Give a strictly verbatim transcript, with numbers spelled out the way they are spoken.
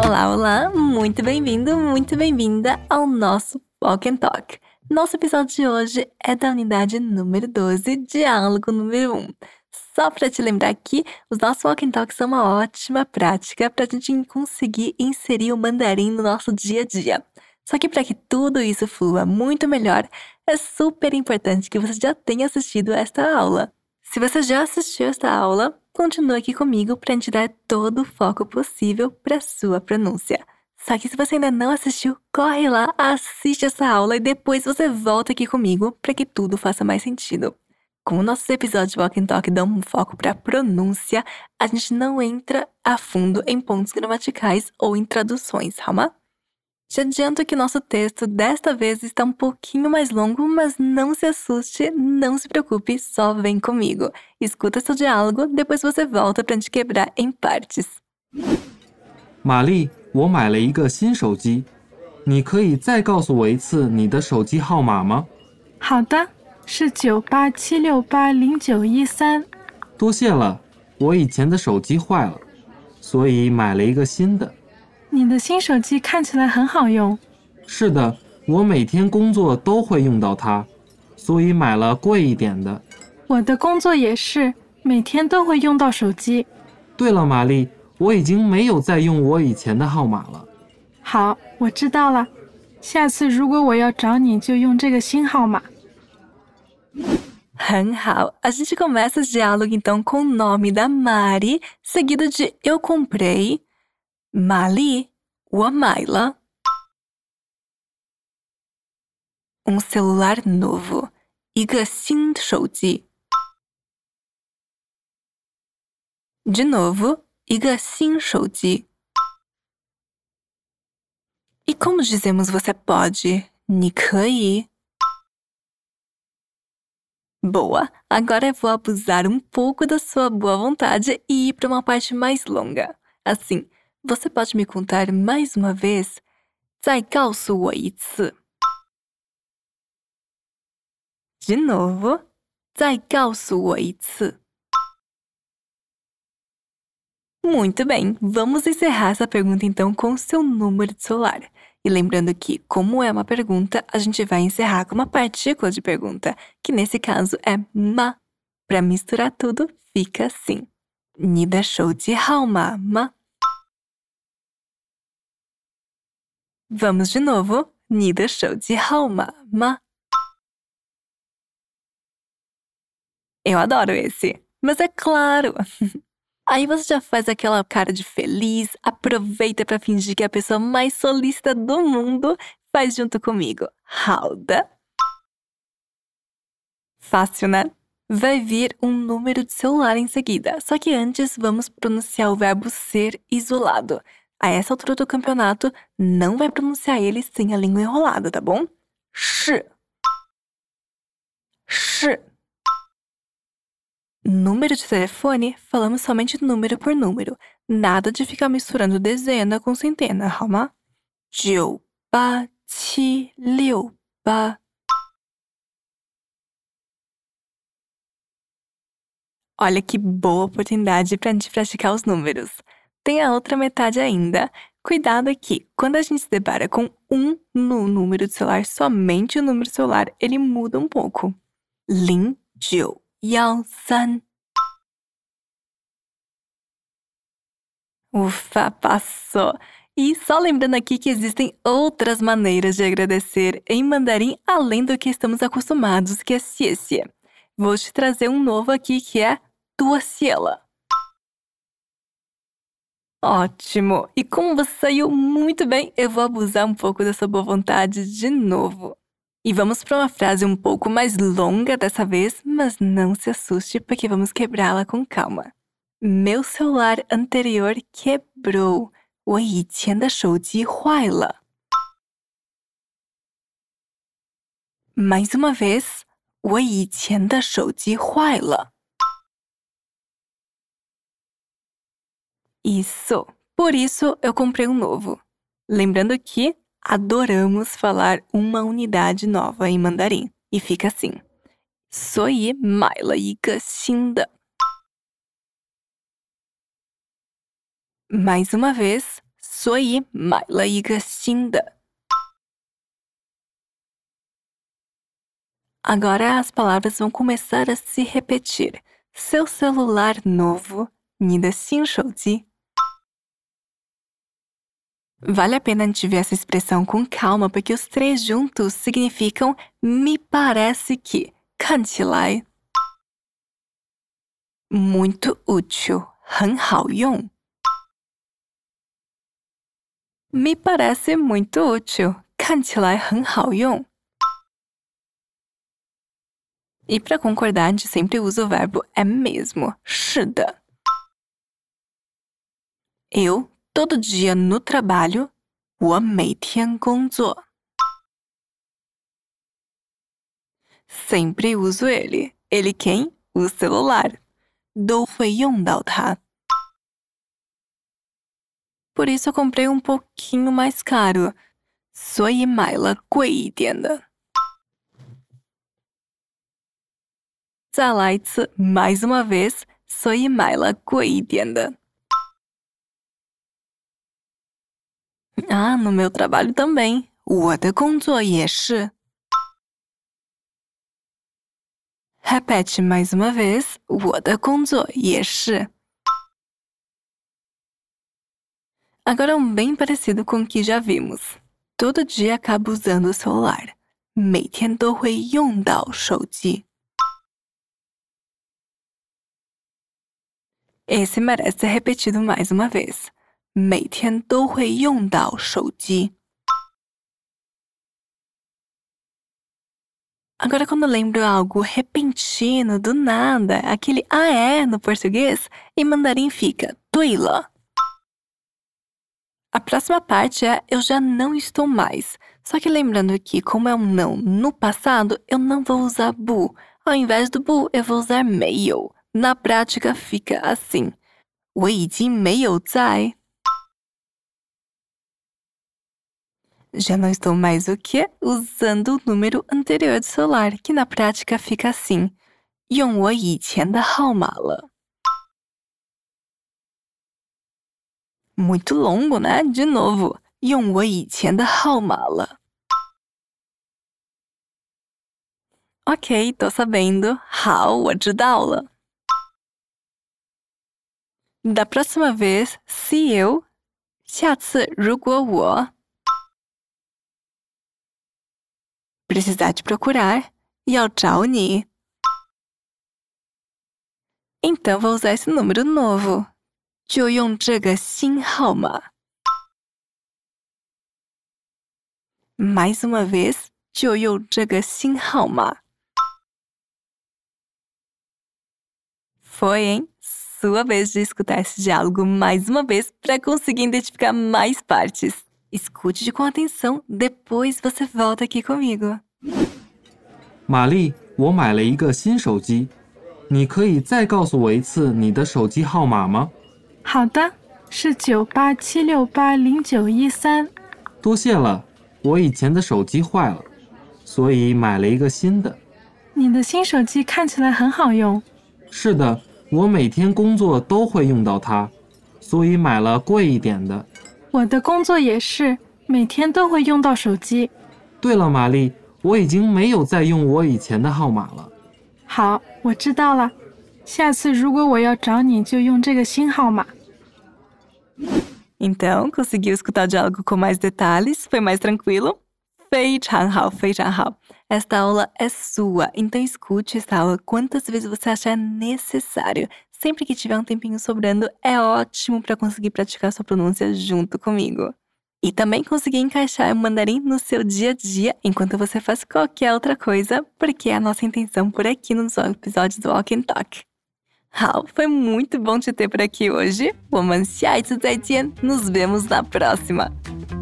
Olá, olá! Muito bem-vindo, muito bem-vinda ao nosso Walk and Talk. Nosso episódio de hoje é da unidade número doze, diálogo número um. Só para te lembrar que os nossos Walk and Talk são uma ótima prática para a gente conseguir inserir o mandarim no nosso dia a dia. Só que para que tudo isso flua muito melhor, é super importante que você já tenha assistido esta aula. Se você já assistiu esta aula, continue aqui comigo para a gente dar todo o foco possível para a sua pronúncia. Só que se você ainda não assistiu, corre lá, assiste essa aula e depois você volta aqui comigo para que tudo faça mais sentido. Como nossos episódios de Walk and Talk dão um foco para a pronúncia, a gente não entra a fundo em pontos gramaticais ou em traduções, calma? Te adianto que nosso texto desta vez está um pouquinho mais longo, mas não se assuste, não se preocupe, só vem comigo. Escuta seu diálogo, depois você volta para te quebrar em partes. 玛丽，我买了一个新手机，你可以再告诉我一次你的手机号码吗？ 好的，是九八七六八零九一三。 多谢了，我以前的手机坏了，所以买了一个新的。 你的新手机看起来很好用。 是的，我每天工作都会用到它，所以买了贵一点的。 我的工作也是，每天都会用到手机。 对了，玛丽，我已经没有再用我以前的号码了。 好，我知道了。下次如果我要找你，就用这个新号码。 很好, a gente começa esse diálogo então com o nome da Mari, seguido de eu comprei. 玛丽，我买了 um celular novo, 一个新手机 De novo, 一个新手机 E como dizemos você pode? 你可以 Boa, agora eu vou abusar um pouco da sua boa vontade e ir para uma parte mais longa. Assim, você pode me contar mais uma vez? 再告诉我一次 De novo, 再告诉我一次 Muito bem, vamos encerrar essa pergunta então com o seu número de celular. E lembrando que, como é uma pergunta, a gente vai encerrar com uma partícula de pergunta, que nesse caso é ma. Para misturar tudo, fica assim. 你的手机号码吗 Vamos de novo. 你的手机号码吗 Eu adoro esse, mas é claro. Aí você já faz aquela cara de feliz, aproveita para fingir que é a pessoa mais solícita do mundo, faz junto comigo. 好的 Fácil, né? Vai vir um número de celular em seguida, só que antes vamos pronunciar o verbo ser isolado. A essa altura do campeonato, não vai pronunciar ele sem a língua enrolada, tá bom? 是 是 Número de telefone, falamos somente número por número. Nada de ficar misturando dezena com centena, 好吗？九八七六八 Olha que boa oportunidade para a gente praticar os números. Tem a outra metade ainda. Cuidado aqui, quando a gente se depara com um no número de celular, somente o número de celular, ele muda um pouco. 零九一三 Ufa, passou! E só lembrando aqui que existem outras maneiras de agradecer em mandarim além do que estamos acostumados, que é xie xie. Vou te trazer um novo aqui que é 多谢了 Ótimo! E como você saiu muito bem, eu vou abusar um pouco dessa boa vontade de novo. E vamos para uma frase um pouco mais longa dessa vez, mas não se assuste porque vamos quebrá-la com calma. Meu celular anterior quebrou. 我以前的手机坏了 Mais uma vez, 我以前的手机坏了 Isso, por isso eu comprei um novo. Lembrando que adoramos falar uma unidade nova em mandarim. E fica assim. 所以买了一个新的 Mais uma vez, 所以买了一个新的。Agora as palavras vão começar a se repetir. Seu celular novo, 你的新手机。Vale a pena a gente ver essa expressão com calma, porque os três juntos significam me parece que, 看起来 muito útil, 很好用 me parece muito útil, 看起来很好用 E para concordar, a gente sempre usa o verbo é mesmo, 是的 Eu todo dia no trabalho, 我每天工作 Sempre uso ele. Ele quem? O celular. 都会用到它 Por isso eu comprei um pouquinho mais caro. 所以买了贵一点的 再来一次 mais uma vez. 所以买了贵一点的 Ah, no meu trabalho também. 我的工作也是 Repete mais uma vez. 我的工作也是 Agora um bem parecido com o que já vimos. Todo dia acabo usando o celular. 每天都会用到手机 Esse merece ser repetido mais uma vez. 每天都会用到手机 Agora quando eu lembro algo repentino, do nada, aquele ah é no português, em mandarim fica 对了 A próxima parte é eu já não estou mais. Só que lembrando que como é um não no passado, eu não vou usar bu. Ao invés do bu, eu vou usar 没有 Na prática fica assim. 我已经没有在 Já não estou mais o quê? Usando o número anterior do celular, que na prática fica assim. 用我以前的号码了 Muito longo, né? De novo. 用我以前的号码了 Ok, tô sabendo. 好，我知道了 Da próxima vez, se eu 下次如果我 precisar te procurar, 要找你 Então vou usar esse número novo 就用这个新号码 Mais uma vez, 就用这个新号码 Foi, hein? Sua vez de escutar esse diálogo mais uma vez para conseguir identificar mais partes. Escute com atenção, depois você volta aqui comigo. 玛丽，我买了一个新手机，你可以再告诉我一次你的手机号码吗？ 好的，是九八七六八零九一三。 多谢了，我以前的手机坏了，所以买了一个新的。 你的新手机看起来很好用。 是的，我每天工作都会用到它，所以买了贵一点的。 我的工作也是，每天都会用到手机。 对了，玛丽，我已经没有再用我以前的号码了。 好，我知道了。下次如果我要找你，就用这个新号码。 Então, conseguiu escutar o diálogo com mais detalhes? Foi mais tranquilo? 非常好，非常好。Esta aula é sua, então escute esta aula quantas vezes você achar necessário. Sempre que tiver um tempinho sobrando, é ótimo para conseguir praticar sua pronúncia junto comigo. E também conseguir encaixar o mandarim no seu dia a dia, enquanto você faz qualquer outra coisa, porque é a nossa intenção por aqui nos episódios do Walk and Talk. 好，foi muito bom te ter por aqui hoje. 我们下一次再见，nos vemos na próxima.